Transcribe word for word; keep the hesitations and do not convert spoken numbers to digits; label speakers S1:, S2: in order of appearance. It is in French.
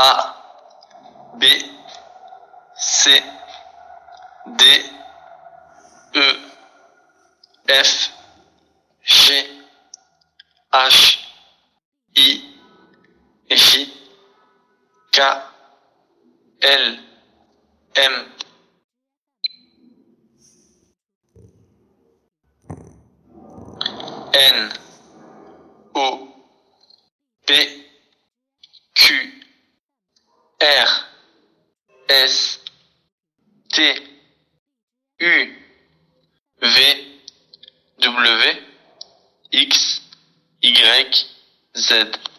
S1: A, B, C, D, E, F, G, H, I, J, K, L, M, N, O, P, Q, R, S, T, U, V, W, X, Y, Z.